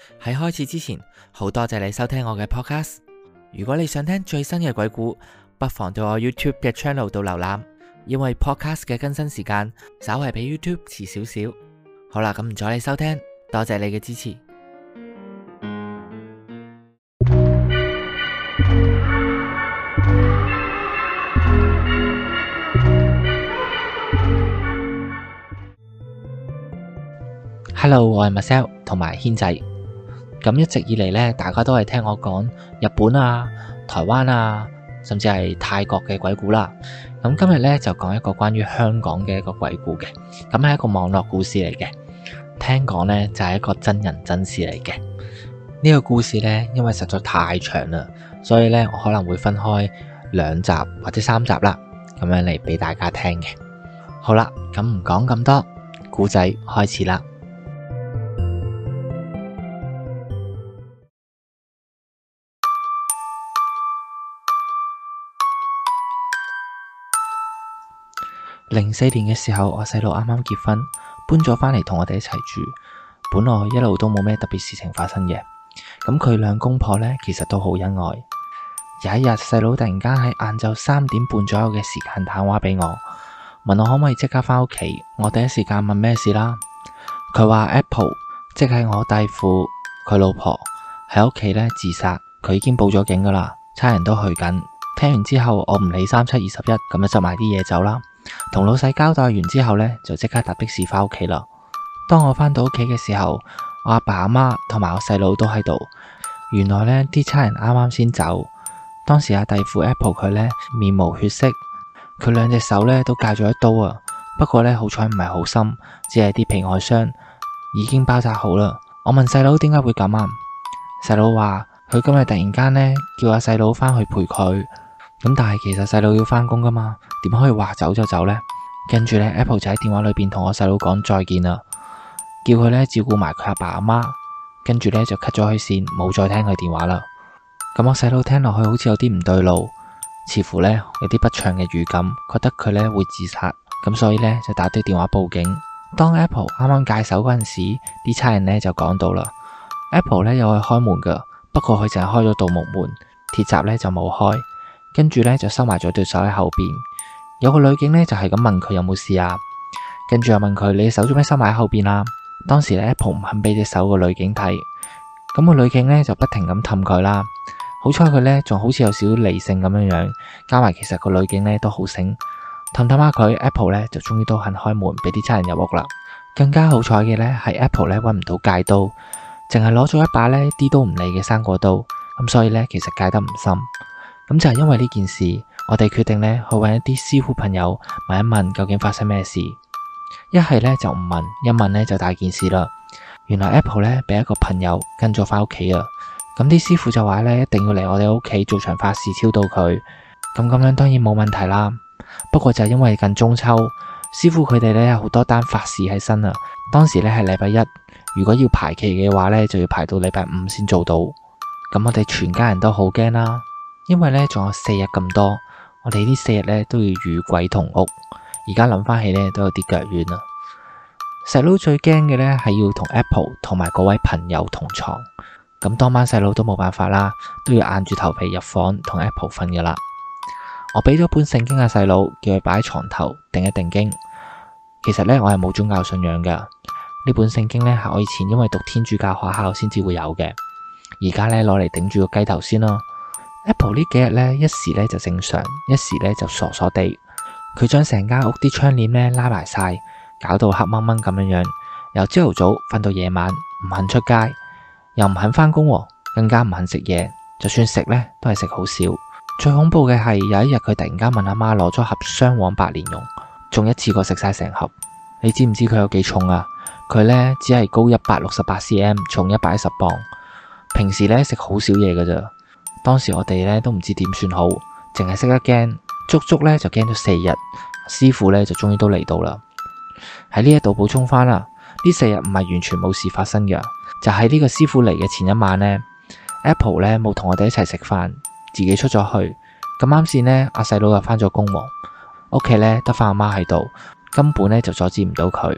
喺開始之前，好多謝你收聽我嘅 podcast。如果你想聽最新嘅鬼故，不妨到我 YouTube 嘅 channel 度瀏覽，因為 podcast 嘅更新時間稍為比 YouTube 遲少少。好啦，咁唔阻你收聽，多謝你嘅支持。Hello， 我係 Marcel 同埋軒仔。咁一直以嚟呢，大家都係聽我講日本啊、台灣啊，甚至係泰國嘅鬼故啦。咁今日呢，就講一個關於香港嘅一個鬼故嘅。咁係一個網絡故事嚟嘅，聽講呢，就係一個真人真事嚟嘅。呢個故事呢，因為實在太長啦，所以呢，我可能會分開2集或者3集啦，咁樣嚟俾大家聽嘅。好啦，咁唔講咁多，故仔開始啦。04年嘅時候，我細佬啱啱結婚，搬咗返嚟同我哋一齊住。本來一路都冇咩特別事情發生嘅。咁佢兩公婆呢，其實都好恩愛。有一日，細佬突然間喺晏晝3點半左右嘅時間打電話俾我，問我可唔可以即刻返屋企。我第一時間問咩事啦。佢話 Apple 即係我弟婦佢老婆喺屋企呢自殺，佢已經報咗警噶啦，差人都去緊。聽完之後，我唔理37、21，咁就執埋啲嘢走啦。同老細交代完之後呢，就即刻搭的士返屋企啦。當我返到屋企嘅時候，我阿爸阿媽同埋我細佬都喺度。原來呢啲差人啱啱先走。當時阿弟婦 Apple 佢呢面無血色，佢2隻手呢都戒咗一刀啊。不過呢，好彩唔係好深，只係啲皮外傷，已經包紮好啦。我問細佬點解會咁啊？細佬話佢今日突然間呢叫阿細佬返去陪佢。咁但係其實細佬要返工噶嘛，點可以話走就走呢？跟住呢 Apple 就喺電話裏邊同我細佬講再見啦，叫佢呢照顧埋佢阿爸阿媽。跟住呢就 cut 咗佢線，冇再聽佢電話啦。咁我細佬聽落去好似有啲唔對路，似乎呢有啲不祥嘅預感，覺得佢呢會自殺，咁所以呢就打啲電話報警。當 Apple 啱啱戒手嗰陣時，啲差人呢就講到啦。Apple 呢有去開門噶，不過佢淨係開咗道木門，鐵閘呢就冇開。跟住呢，就收埋咗對手喺後邊。有個女警呢，就係咁問佢有冇事啊，跟住又問佢你手做咩收埋喺後邊啊。當時呢 Apple 唔肯俾隻手個女警睇，咁個女警呢，就不停咁氹佢啦。好彩佢呢，仲好似有少少理性咁樣樣，加埋其實個女警呢都好醒，氹下佢 Apple 呢，就終於都肯開門俾啲差人入屋啦。更加好彩嘅呢，係 Apple 呢揾唔到戒刀，淨係攞咗一把呢啲都唔利嘅生果刀，咁所以呢，其實戒得唔深。咁就係因為呢件事，我哋決定呢去揾一啲師傅朋友問一問究竟發生咩事。一係呢就唔問，一問呢就大件事啦。原來 Apple 呢俾一個朋友跟咗返屋企啊。咁啲師傅就話呢一定要嚟我哋屋企做場法事超度佢。咁樣當然冇問題啦。不過就係因為近中秋，師傅佢哋呢有好多單法事喺身啊。當時呢係禮拜1，如果要排期嘅話呢，就要排到禮拜5先做到。咁我哋全家人都好驚啦。因為呢仲有4日咁多，我哋呢4日呢都要與鬼同屋。而家諗翻起呢都有啲腳軟啊。細佬最驚嘅呢係要同 Apple 同埋嗰位朋友同床。咁當晚細佬都冇辦法啦，都要硬住頭皮入房同 Apple 瞓噶啦。我俾咗本聖經阿細佬，叫佢擺喺床頭定一定經。其實呢我係冇宗教信仰噶，呢本聖經呢係我以前因為讀天主教學校先至會有嘅。而家呢攞嚟頂住個雞頭先咯。Apple 呢幾日呢，一時呢就正常，一時呢就傻傻地。佢將成間屋啲窗簾呢拉埋晒，搞到黑掹掹咁樣樣。由朝頭早瞓到夜晚，唔肯出街，又唔肯返工，更加唔肯食嘢。就算食呢，都係食好少。最恐怖嘅係有一日佢突然間問阿媽攞咗盒雙黃白蓮蓉，仲一次過食晒成盒。你知唔知佢有幾重啊？佢呢只係高168 cm， 重110磅。平時呢食好少嘢噶咋。當時我哋呢都唔知點算好，淨係識得驚，足足呢就驚咗4日。師傅呢就終於都嚟到啦。喺呢一度補充翻啦，呢4日唔係完全冇事發生嘅，就喺呢個師傅嚟嘅前一晚呢， Apple 呢冇同我哋一齊食飯，自己出咗去。咁啱先呢，阿細佬又返咗工，屋企呢得翻阿媽喺度，根本呢就阻止唔到佢。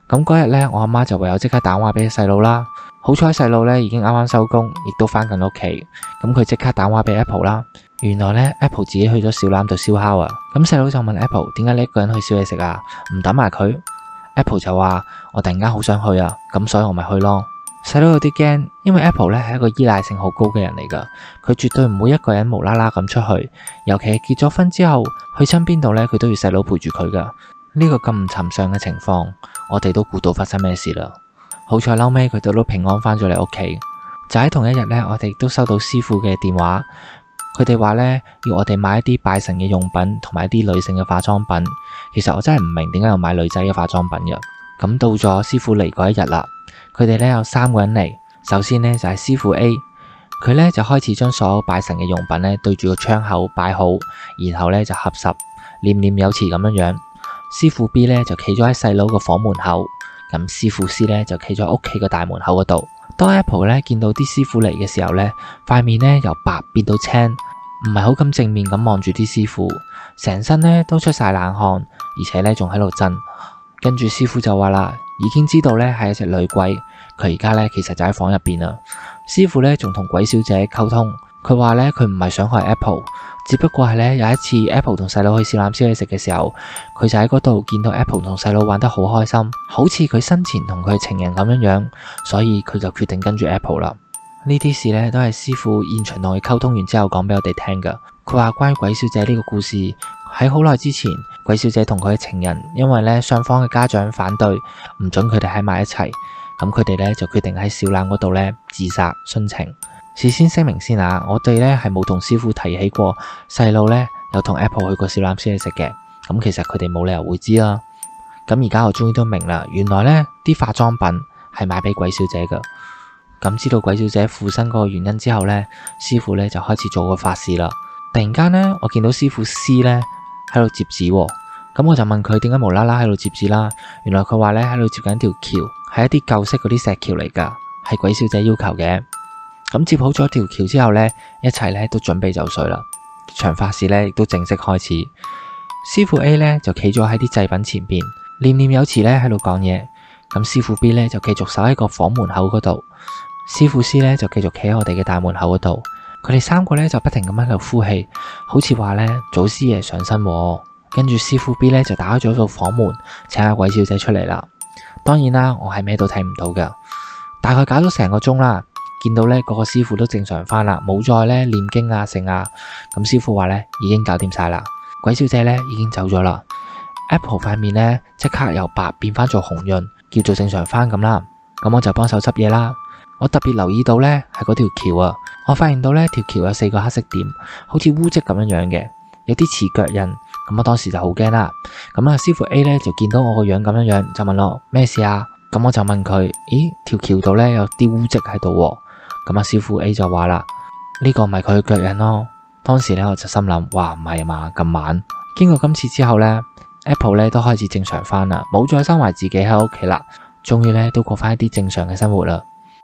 咁嗰日呢，我阿媽就唯有即刻打電話俾細佬啦。好彩細佬呢已經啱啱收工，亦都翻緊屋企。咁佢即刻打電話俾 Apple 啦。原來呢 Apple 自己去咗小欖度燒烤啊。咁細佬就問 Apple 點解你一個人去燒嘢食啊？唔等埋佢。Apple 就話我突然間好想去啊，咁所以我咪去咯。細佬有啲驚，因為 Apple 呢係一個依賴性好高嘅人嚟噶，佢絕對唔會一個人無啦啦咁出去，尤其係結咗婚之後，去親邊度呢，佢都要細佬陪住佢噶。呢個咁唔尋常嘅情況，我哋都估到發生咩事啦。好彩後尾佢哋都平安翻咗嚟屋企。就喺同一日呢，我哋都收到師傅嘅電話，佢哋話呢，要我哋買一啲拜神嘅用品同埋一啲女性嘅化妝品。其實我真係唔明點解要買女仔嘅化妝品嘅。咁到咗師傅嚟嗰一日啦，佢哋呢有3個人嚟。首先呢，就係師傅 A， 佢呢就開始將所有拜神嘅用品呢對住個窗口擺好，然後呢就合十，念念有詞咁樣樣。師傅 B 呢就企咗喺細佬個房門口。咁師傅 C 呢就企咗屋企個大門口嗰度。當 Apple 呢見到啲師傅嚟嘅時候呢，塊面呢由白變到青，唔係好咁正面咁望住啲師傅，成身呢都出晒冷汗，而且呢仲喺度震。跟住師傅就話啦，已經知道呢係一隻女鬼，佢而家呢其實就喺房入邊啦。師傅呢仲同鬼小姐溝通，佢話呢佢唔係想害 Apple。只不過係呢，有一次 Apple 同細佬去小欖燒嘢食嘅時候，佢就喺嗰度見到 Apple 同細佬玩得好開心，好似佢生前同佢情人咁樣樣，所以佢就決定跟住 Apple 啦。呢啲事呢，都係師傅現場同佢溝通完之後講俾我哋聽噶。佢話關於鬼小姐呢個故事，喺好耐之前，鬼小姐同佢嘅情人因為呢雙方嘅家長反對，唔准佢哋喺埋一齊，咁佢哋呢就決定喺小欖嗰度呢自殺殉情。事先聲明先啊，我哋呢係冇同師傅提起過細佬呢有同 Apple 去過小欖燒嘢食嘅，咁其實佢哋冇理由會知啦。咁而家我終於都明啦，原來呢啲化妝品係買俾鬼小姐噶。咁知道鬼小姐附身嗰個原因之後呢，師傅呢就開始做個法事啦。突然間呢，我見到師傅 C 呢喺度折紙，咁我就問佢點解無啦啦喺度折紙啦。原來佢話呢喺度折緊條橋，係一啲舊式嗰啲石橋嚟噶，係鬼小姐要求嘅。咁接好咗條橋之後呢，一齊呢都準備就緒啦。場法事呢亦都正式開始。師傅 A 呢就企咗喺啲祭品前邊，念念有詞呢喺度講嘢。咁師傅 B 呢就繼續守喺個房門口嗰度，師傅 C 呢就繼續企喺我哋嘅大門口嗰度。佢哋3個呢就不停咁喺度呼氣，好似話呢祖師爺上身。跟住師傅 B 呢就打開咗個房門，請阿鬼小姐出嚟啦。當然啦，我係咩都睇唔到噶。大概搞咗成個鐘啦。見到呢個個師傅都正常翻啦，冇再呢念經啊聖啊。咁師傅話呢已經搞掂晒啦，鬼小姐呢已經走咗啦。Apple 塊面呢即刻由白變翻做紅潤，叫做正常翻咁啦。咁我就幫手執嘢啦。我特別留意到呢係嗰條橋啊，我發現到呢條橋有4個黑色點，好似污跡咁樣樣嘅，有啲似腳印。咁我當時就好驚啦。咁啊師傅 A 呢就見到我個樣咁樣樣，就問我咩事啊？咁我就問佢，咦，條橋度呢有啲污跡喺度。咁啊師傅 A 就話啦，呢個咪佢嘅腳印咯。當時呢，我就心諗，哇，唔係啊嘛，咁晚。經過今次之後呢， Apple 呢都開始正常翻啦，冇再收埋自己喺屋企啦，終於呢都過翻一啲正常嘅生活啦。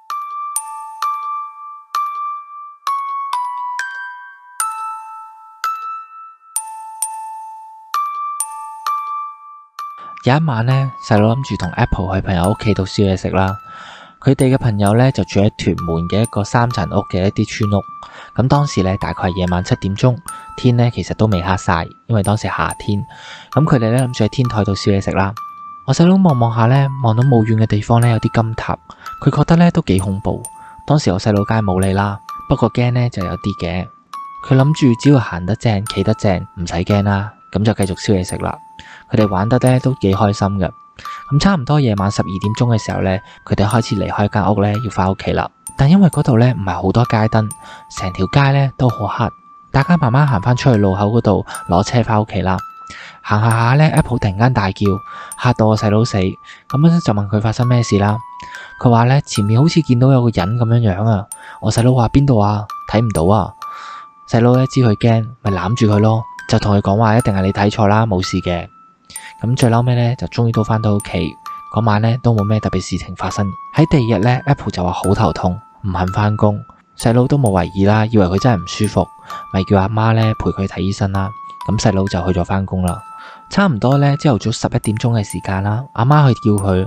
有一晚呢，細佬諗住同 Apple 去朋友屋企度燒嘢食啦。佢哋嘅朋友呢就住喺屯門嘅一個3層屋嘅一啲村屋。咁當時呢大概係夜晚7點鐘，天呢其實都未黑晒，因為當時夏天。咁佢哋呢諗住喺天台度燒嘢食啦。我細佬望望下呢，望到冇遠嘅地方呢有啲金塔，佢覺得呢都幾恐怖。當時我細佬梗係冇理啦，不過驚呢就有啲嘅。佢諗住只要行得正，企得正，唔使驚啦，咁就繼續燒嘢食啦。佢哋玩得呢都幾開心嘅。咁差唔多夜晚12點鐘嘅時候呢，佢哋開始離開間屋呢，要翻屋企啦。但因為嗰度呢唔係好多街燈，成條街呢都好黑，大家慢慢行翻出去路口嗰度攞車翻屋企啦。行下下呢 Apple 突然間大叫，嚇到我細佬死。咁樣就問佢發生咩事啦。佢話呢前面好似見到有個人咁樣樣啊。我細佬話邊度啊？睇唔到啊。細佬呢知佢驚，咪攬住佢咯，就同佢講話一定係你睇錯啦，冇事嘅。咁最嬲尾呢，就終於都翻到屋企。嗰晚呢，都冇咩特別事情發生。喺第二日呢， Apple 就話好頭痛，唔肯翻工。細佬都冇懷疑啦，以為佢真係唔舒服，咪叫阿媽呢陪佢睇醫生啦。咁細佬就去咗翻工啦。差唔多呢，朝頭早11點鐘嘅時間啦，阿媽去叫佢，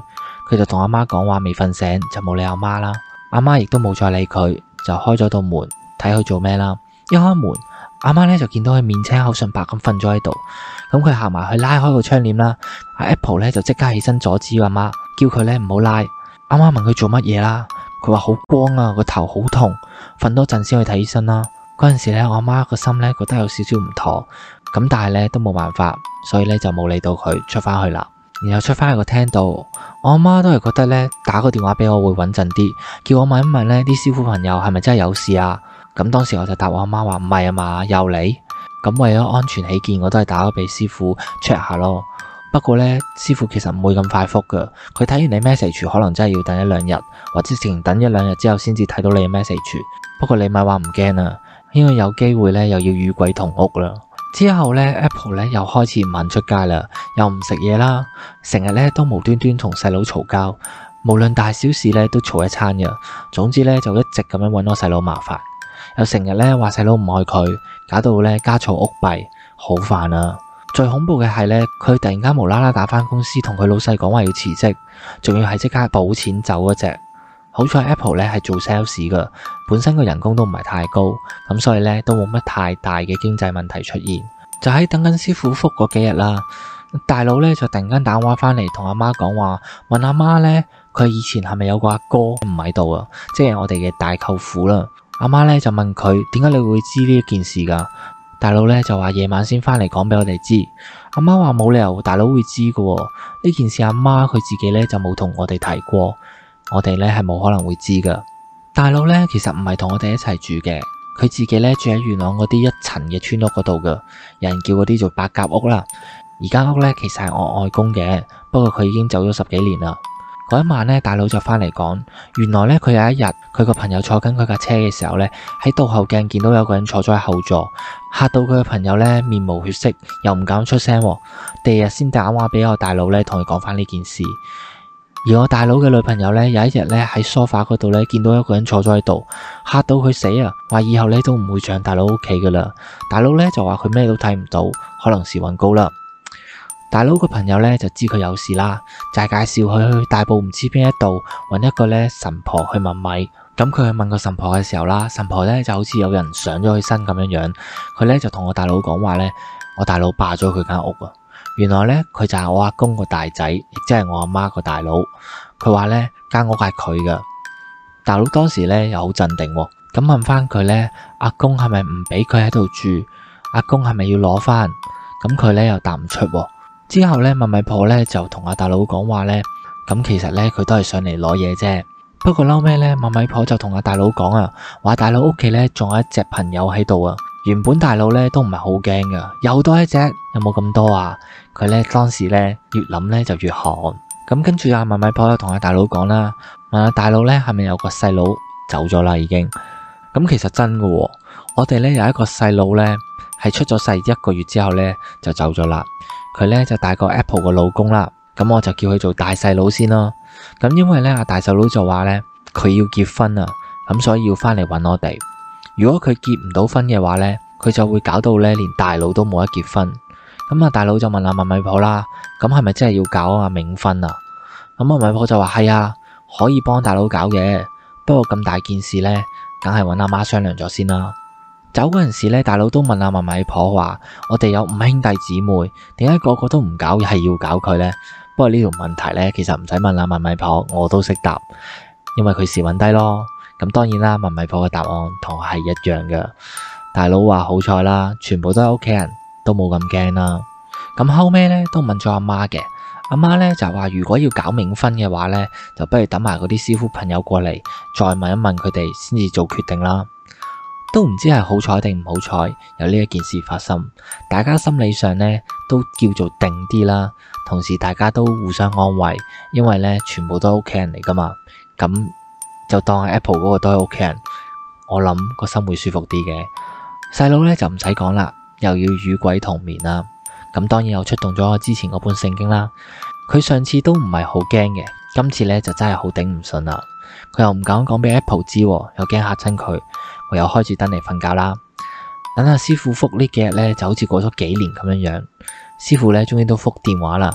佢就同阿媽講話未瞓醒就冇理阿媽啦。阿媽亦都冇再理佢，就開咗道門睇佢做咩啦。一開門，阿媽咧就見到佢面青口唇白咁瞓咗喺度。咁佢行埋去拉開個窗簾啦。阿 Apple 咧就即刻起身阻止阿媽，叫佢咧唔好拉。阿媽問佢做乜嘢啦，佢話好光啊，個頭好痛，瞓多陣先去睇醫生啦。嗰陣時咧，我阿媽個心咧覺得有少少唔妥，咁但係咧都冇辦法，所以咧就冇理到佢，出翻去啦。然後出翻去個廳度，我阿媽都係覺得咧打個電話俾我會穩陣啲，叫我問一問咧啲師傅朋友係咪真係有事啊？咁當時我就答我阿媽話唔係啊嘛，又嚟。咁為咗安全起見，我都係打咗俾師傅 check 下咯。不過咧，師傅其實唔會咁快覆噶，佢睇完你 message 可能真係要等一兩日，或者直情等一兩日之後先至睇到你嘅 message。不過你咪話唔驚啊，因為有機會咧又要與鬼同屋啦。之後咧 Apple 咧又開始唔肯出街啦，又唔食嘢啦，成日咧都無端端同細佬嘈交，無論大小事咧都嘈一餐嘅。總之咧就一直咁樣搵我細佬麻煩，又成日咧話細佬唔愛佢，搞到咧家嘈屋閉，好煩啊！最恐怖嘅係咧，佢突然間無啦啦打返公司，同佢老細講話要辭職，仲要係即刻補錢走嗰隻。好彩 Apple 咧係做 sales 噶，本身個人工都唔係太高，咁所以咧都冇乜太大嘅經濟問題出現。就喺等緊師傅覆嗰幾日啦，大佬咧就突然間打電話翻嚟同阿媽講話，問阿媽咧佢以前係咪有個阿哥唔喺度啊？即係我哋嘅大舅父啦。阿媽咧就問佢點解你會知呢一件事噶？大佬咧就話夜晚先翻嚟講俾我哋知。阿媽話冇理由大佬會知噶，呢件事阿媽佢自己咧就冇同我哋提過。我哋咧係冇可能會知噶。大佬咧其實唔係同我哋一齊住嘅，佢自己咧住喺元朗嗰啲一層嘅村屋嗰度噶，有人叫嗰啲做白鴿屋啦。而間屋咧其實係我外公嘅，不過佢已經走咗10幾年啦。嗰一晚咧，大佬就翻嚟講，原來咧佢有一日佢個朋友坐緊佢架車嘅時候咧，喺倒後鏡見到有個人坐咗喺後座，嚇到佢嘅朋友咧面無血色，又唔敢出聲。第二日先打電話俾我大佬咧，同佢講翻呢件事。而我大佬嘅女朋友咧，有一日咧喺梳化嗰度咧見到一個人坐咗喺度，嚇到佢死啊！話以後咧都唔會上大佬屋企噶啦。大佬咧就話佢咩都睇唔到，可能時運高啦。大佬個朋友咧就知佢有事啦，就係介紹佢去大埔唔知邊一度揾一個咧神婆去問米。咁佢去問個神婆嘅時候啦，神婆咧就好似有人上咗佢身咁樣樣。佢咧就同我大佬講話咧，我大佬霸咗佢間屋啊！原來咧佢就係我阿公個大仔，亦即係我阿媽個大佬。佢話咧間屋係佢噶。大佬當時咧又好鎮定，咁問翻佢咧，阿公係咪唔俾佢喺度住？阿公係咪要攞翻？咁佢咧又答唔出。之後咧，問米婆咧就同阿大佬講話咧，咁其實咧佢都係上嚟攞嘢啫。不過嬲尾咧，問米婆就同阿大佬講啊，話大佬屋企咧仲有一隻朋友喺度啊。原本大佬咧都唔係好驚噶，又多一隻，有冇咁多啊？佢咧當時咧越諗咧就越寒。咁跟住阿問米婆又同阿大佬講啦，問阿大佬咧係咪有個細佬走咗啦已經？咁其實真噶，我哋咧有一個細佬咧係出咗世1個月之後咧就走咗啦。佢咧就大過 Apple 個老公啦，咁我就叫佢做大細佬先啦。咁因為咧阿大細佬就話咧佢要結婚啊，咁所以要翻嚟揾我哋。如果佢結唔到婚嘅話咧，佢就會搞到咧連大佬都冇得結婚。咁阿大佬就問阿問米婆啦，咁係咪真係要搞阿冥婚啊？咁阿米婆就話係啊，可以幫大佬搞嘅，不過咁大件事咧，梗係揾阿媽商量咗先啦。走嗰陣時咧，大佬都問阿問米婆話：我哋有5兄弟姊妹，點解個個都唔搞，係要搞佢呢？不過呢條問題咧，其實唔使問阿問米婆，我都識答，因為佢時運低咯。咁當然啦，問米婆嘅答案同我係一樣嘅。大佬話好彩啦，全部都係屋企人，都冇咁驚啦。咁後尾咧都問咗阿媽嘅，阿媽咧就話如果要搞冥婚嘅話咧，就不如等埋嗰啲師傅朋友過嚟，再問一問佢哋先至做決定啦。都唔知係好彩定唔好彩，有呢一件事發生，大家心理上咧都叫做定啲啦，同時大家都互相安慰，因為咧全部都係屋企人嚟噶嘛，咁就當 Apple 嗰個都係屋企人，我諗個心會舒服啲嘅。細佬咧就唔使講啦，又要與鬼同眠啦，咁當然又出動咗我之前嗰本聖經啦。佢上次都唔係好驚嘅，今次咧就真係好頂唔順啦。佢又唔敢講俾 Apple 知，又驚嚇親佢。我又開住燈嚟瞓覺啦。等阿師傅覆呢幾日咧，就好似過咗幾年咁樣樣。師傅咧終於都覆電話啦，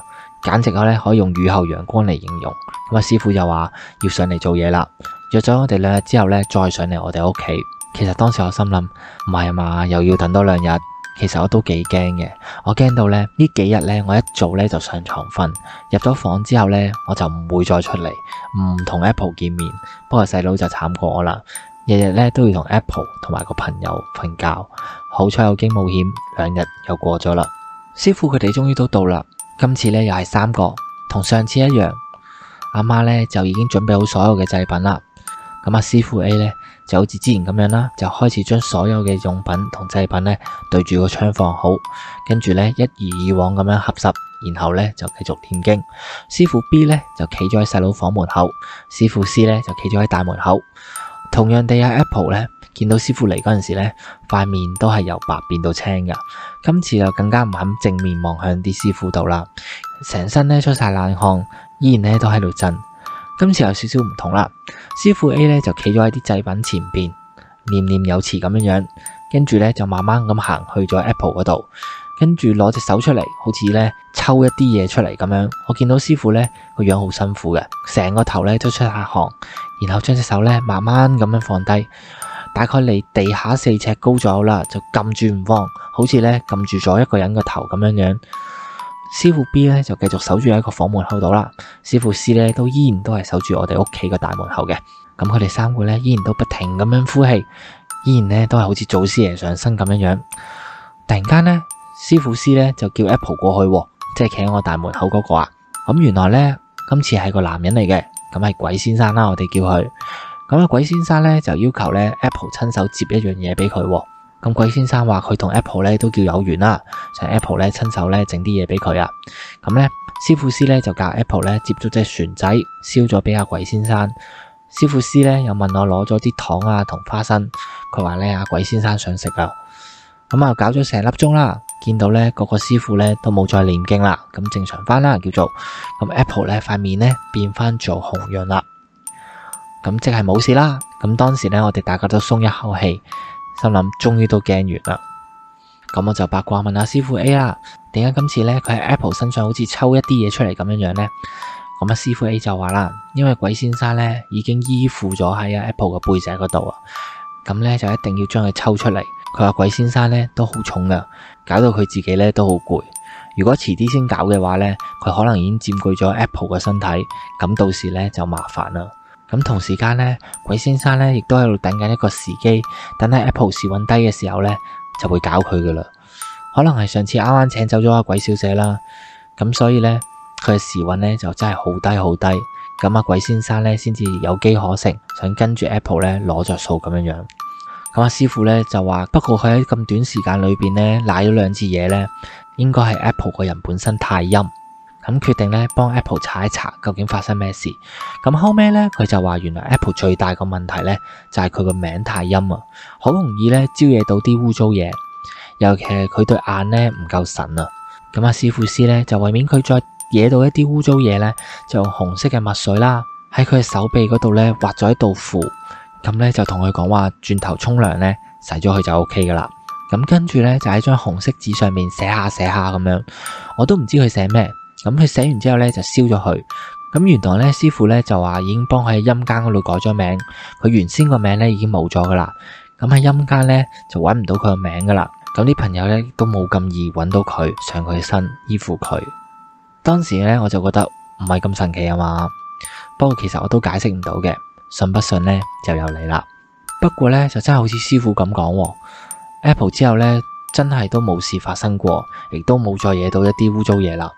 簡直咧可以用雨後陽光嚟形容。咁師傅就話要上嚟做嘢啦，約咗我哋2日之後咧再上嚟我哋屋企。其實當時我心諗唔係啊嘛，又要等多2日。其實我都幾驚嘅，我驚到呢幾日呢，我一早呢就上床瞓，入咗房之後呢，我就唔會再出嚟，唔同 Apple 見面。不過細佬就慘過我啦，日日呢都要同 Apple 同埋個朋友瞓覺。好彩有驚無險，2日又過咗啦。師傅佢哋終於都到啦，今次呢又係3個，同上次一樣。阿媽呢就已經準備好所有嘅祭品啦。咁師傅 A 呢，就好似之前咁樣啦，就開始將所有嘅用品同祭品呢對住個窗放好，跟住呢一如以往咁樣合十，然後呢就繼續念經。師傅 B 呢就企咗喺細佬房門口，師傅 C 呢就企咗喺大門口。同樣地，Apple 呢見到師傅嚟嗰陣時呢，塊面都係由白變到青噶。今次就更加唔肯正面望向啲師傅度啦，成身呢出晒冷汗，依然呢都喺度震。今次有少少唔同啦，師傅 A 呢就企咗喺啲祭品前邊，念念有詞咁樣，跟住呢就慢慢咁行去咗 Apple 嗰度，跟住攞隻手出嚟，好似呢抽一啲嘢出嚟咁樣。我見到師傅呢個樣好辛苦嘅，成個頭呢都出下汗，然後將隻手呢慢慢咁樣放低，大概離地下4尺高左右啦，就撳住唔放，好似呢撳住咗一個人個頭咁樣。師傅 B 呢就繼續守住喺個房門口度啦，師傅 C 呢都依然都係守住我哋屋企個大門口嘅。咁佢哋3個呢依然都不停咁樣呼氣，依然呢都係好似祖師爺上身咁樣。突然間呢，師傅 C 呢就叫 Apple 過去，即係企喺我大門口嗰個啊。咁原來呢，今次係個男人嚟嘅，咁係鬼先生啦，我哋叫佢。咁鬼先生呢就要求呢 Apple 親手接一樣嘢俾佢。咁鬼先生話佢同 Apple 咧都叫有緣啦，想 Apple 咧親手咧整啲嘢俾佢啊。咁咧師傅 C 咧就教 Apple 咧接咗隻船仔，燒咗俾阿鬼先生。師傅 C 咧又問我攞咗啲糖啊同花生，佢話咧阿鬼先生想食啊。咁啊搞咗成粒鐘啦，見到咧個師傅咧都冇再念經啦，咁正常翻啦叫做。咁 Apple 咧塊面咧變翻做紅樣啦，咁即係冇事啦。咁當時咧我哋大家都鬆一口氣。心諗終於都驚完啦，咁我就八卦問下師傅 A 啦，點解今次呢？佢喺 Apple 身上好似抽一啲嘢出嚟咁樣呢？咁師傅 A 就話啦，因為鬼先生呢已經依附咗喺 Apple 嘅背脊嗰度啊，咁呢就一定要將佢抽出嚟。佢話鬼先生呢都好重噶，搞到佢自己呢都好攰。如果遲啲先搞嘅話呢，佢可能已經佔據咗 Apple 嘅身體，咁到時呢就麻煩啦。咁同時間呢，鬼先生呢亦都喺度等緊一個時機，等喺 Apple 時運低嘅時候呢，就會搞佢噶啦。可能係上次啱啱請走咗阿鬼小姐啦，咁所以呢，佢嘅時運呢就真係好低好低。咁阿鬼先生呢先至有機可乘，想跟住 Apple 呢攞着數咁樣。咁阿師傅呢就話，不過佢喺咁短時間裏邊呢瀨咗2次嘢呢，應該係 Apple 個人本身太陰。咁決定咧幫 Apple 查一查究竟發生咩事。咁後尾咧佢就話原來 Apple 最大個問題咧就係佢個名太陰啊，好容易咧招惹到啲污糟嘢，尤其係佢對眼咧唔夠神啊。咁阿師傅 C 咧就為免佢再惹到一啲污糟嘢咧，就用紅色嘅墨水啦喺佢嘅手臂嗰度咧畫咗一道符，咁咧就同佢講話轉頭沖涼咧洗咗佢就 OK 噶啦。咁跟住咧就喺張紅色紙上面寫下咁樣，我都唔知佢寫咩。咁佢寫完之後咧就燒咗佢。咁原來咧師傅咧就話已經幫佢喺陰間嗰度改咗名，佢原先個名咧已經冇咗噶啦。咁喺陰間咧就揾唔到佢個名噶啦。咁啲朋友咧都冇咁易揾到佢上佢身依附佢。當時咧我就覺得唔係咁神奇啊嘛。不過其實我都解釋唔到嘅，信不信咧就由你啦。不過咧就真係好似師傅咁講，Apple 之後咧真係都冇事發生過，亦都冇再惹到一啲污糟嘢啦。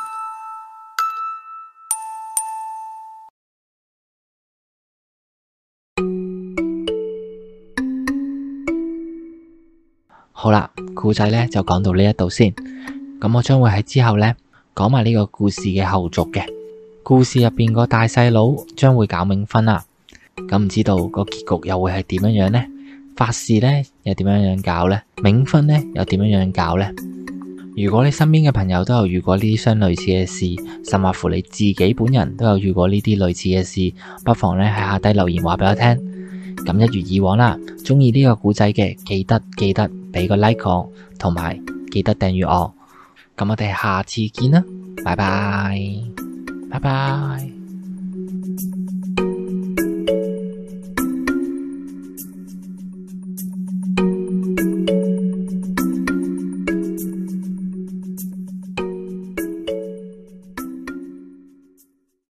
好啦，故仔咧就講到呢一度先。咁我將會喺之後咧講埋呢個故事嘅後續嘅。故事入邊個大細佬將會搞冥婚啦。咁唔知道個結局又會係點樣呢？法事咧又點樣搞呢？冥婚咧又點樣搞呢？如果你身邊嘅朋友都有遇過呢啲相類似嘅事，甚或乎你自己本人都有遇過呢啲類似嘅事，不妨咧喺下低留言話俾我聽。咁一如以往啦，中意呢個故仔嘅記得俾個 like 我，同埋記得訂閱我。咁我哋下次見啦。 拜拜，拜拜。